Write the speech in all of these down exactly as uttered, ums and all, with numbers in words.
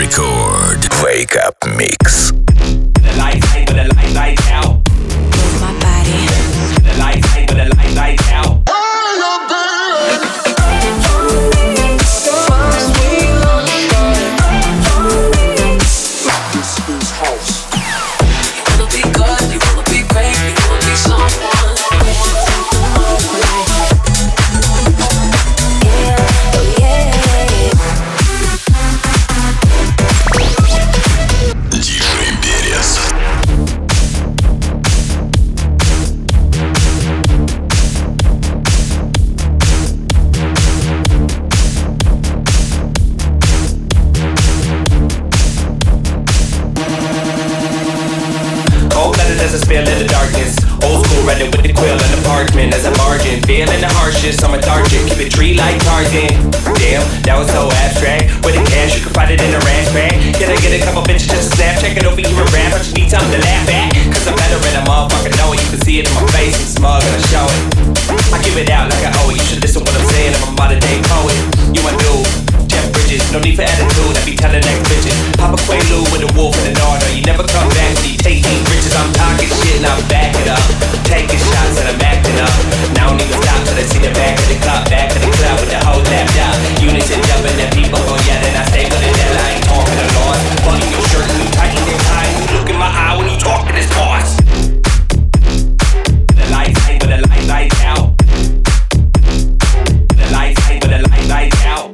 Record. Wake Up Mix. The lights hang, but the light lights out. Move my body. The lights hang, but the light lights out. Feeling the harshest, I'm a target. Keep it tree like Tarzan. Damn, that was so abstract. With the cash, you can find it in a rash bag. Can I get a couple bitches just to snap? Check it over here and rap, but you need something to laugh at. Cause I'm better than a motherfucker, know it. You can see it in my face, I'm smug and I show it. I give it out like I owe it. You should listen what I'm saying, I'm a modern day poet. You my dude, Jeff Bridges, no need for attitude. I be telling next bitches. Papa Quaalude with a wolf in the order. You never come back when you take these riches. I'm talking shit and I'm backing up. Taking shots and I'm acting up. Now I don't even stop till I see the back of the club. Back of the club with the whole lapped out. Unison jumping and people gon' yell and I stay with it. That I ain't talking a lot. Button your shirt and you tighten your tie. You look in my eye when you talk to this boss. The lights hang but the light lights out. The lights hang but the light lights out.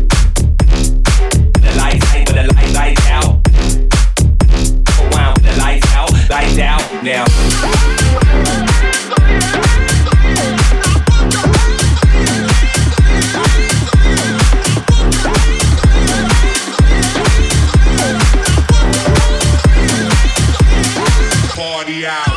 The lights hang but the light lights out. Go on with the lights out, lights out now. Party out.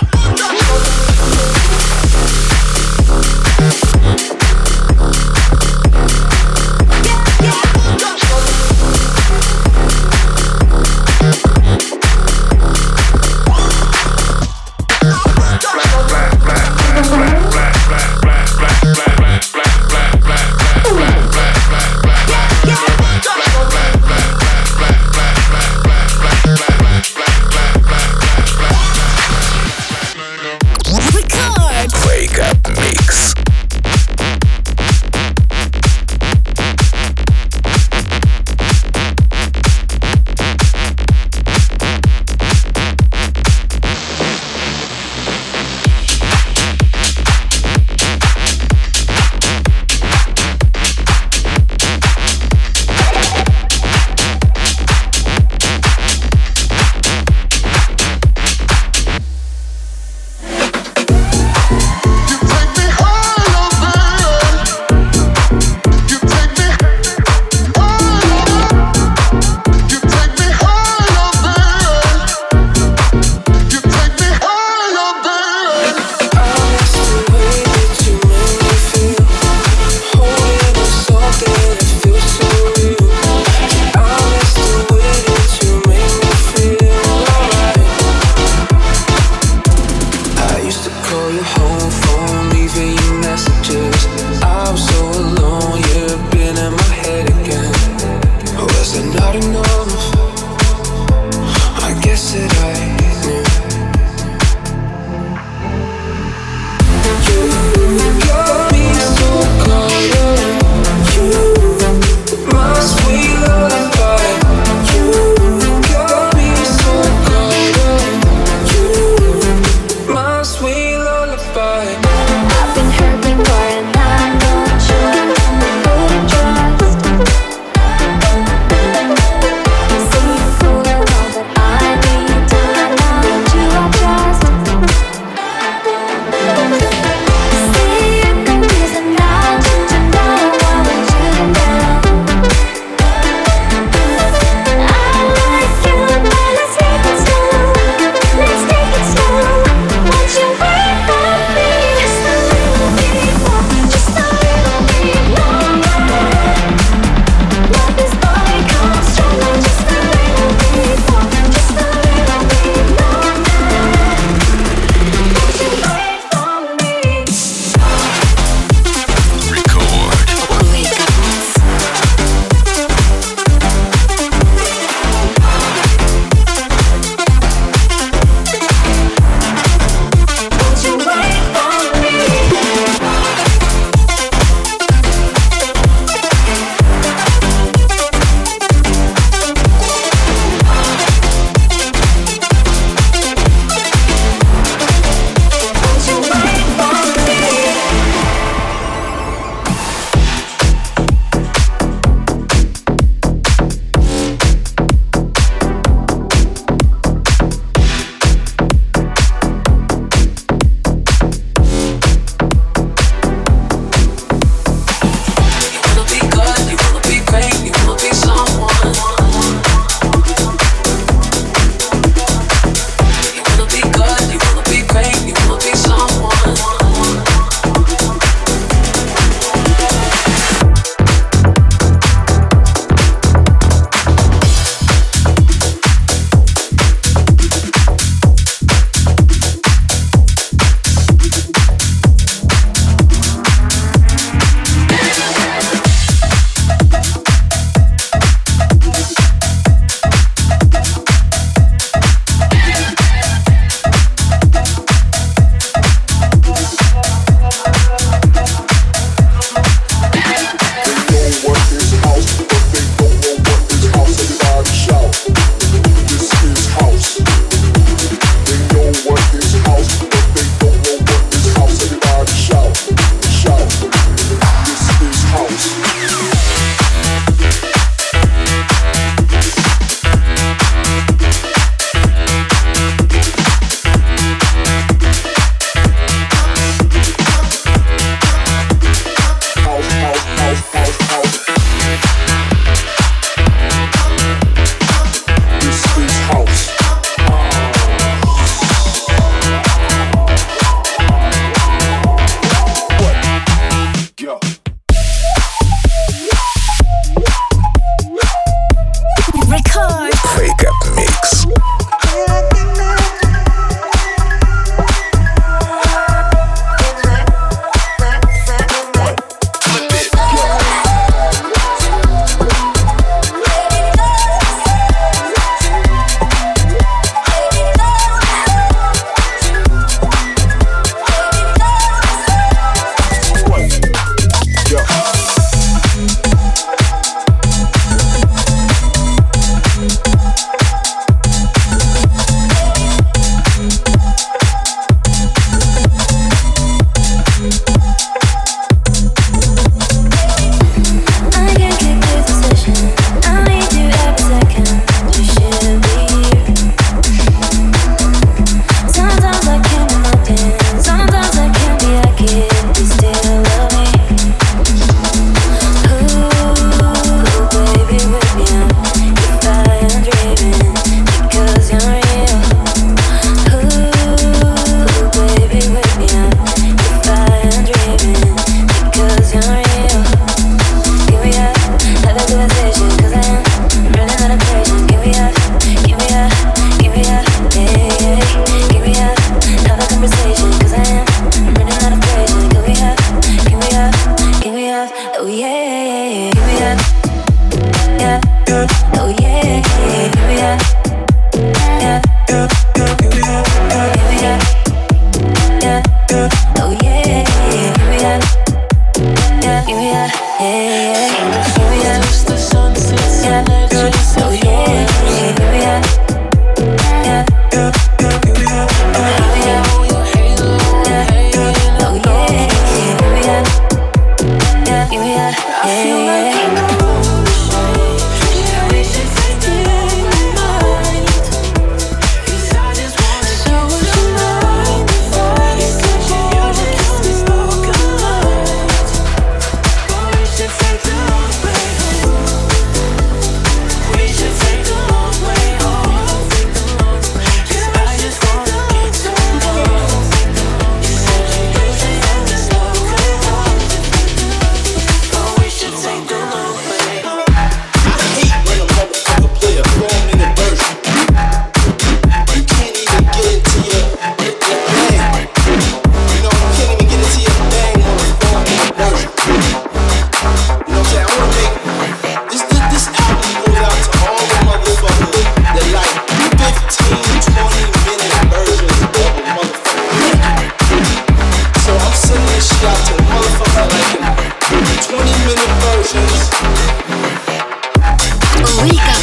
See you fooling all that I need to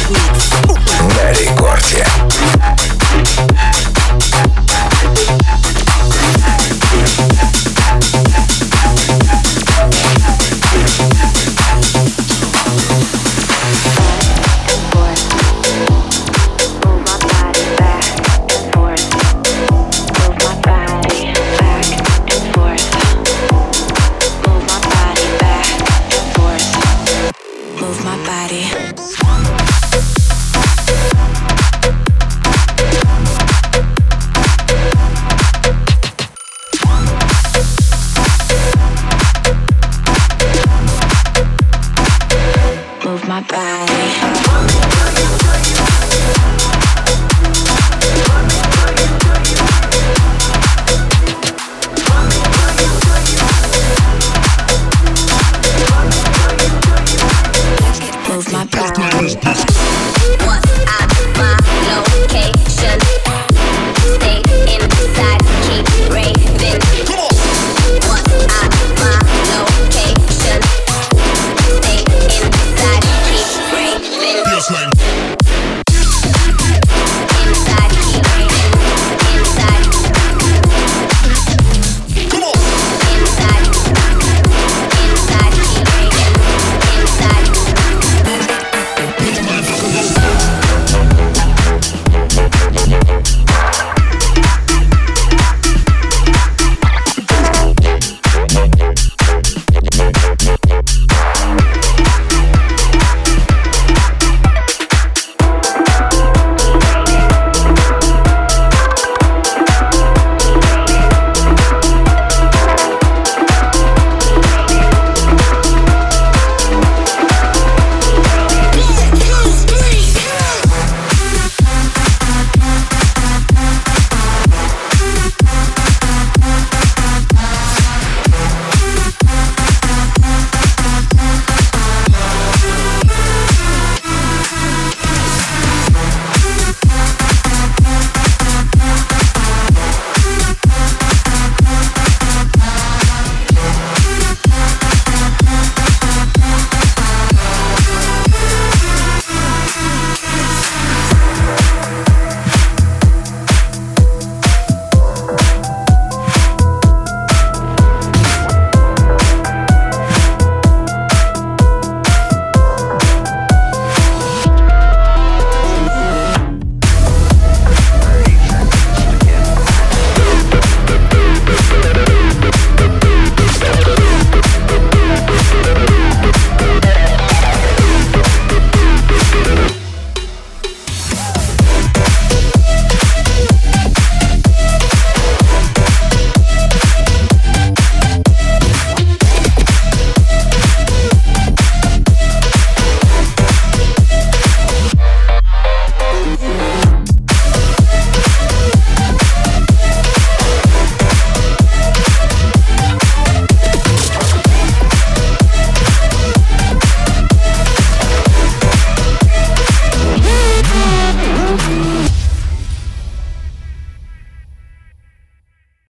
На рекорде. Move my body. Move my body. Move my body. What's at my location? Stay inside, keep raving. What's at my location? Stay inside, keep raving.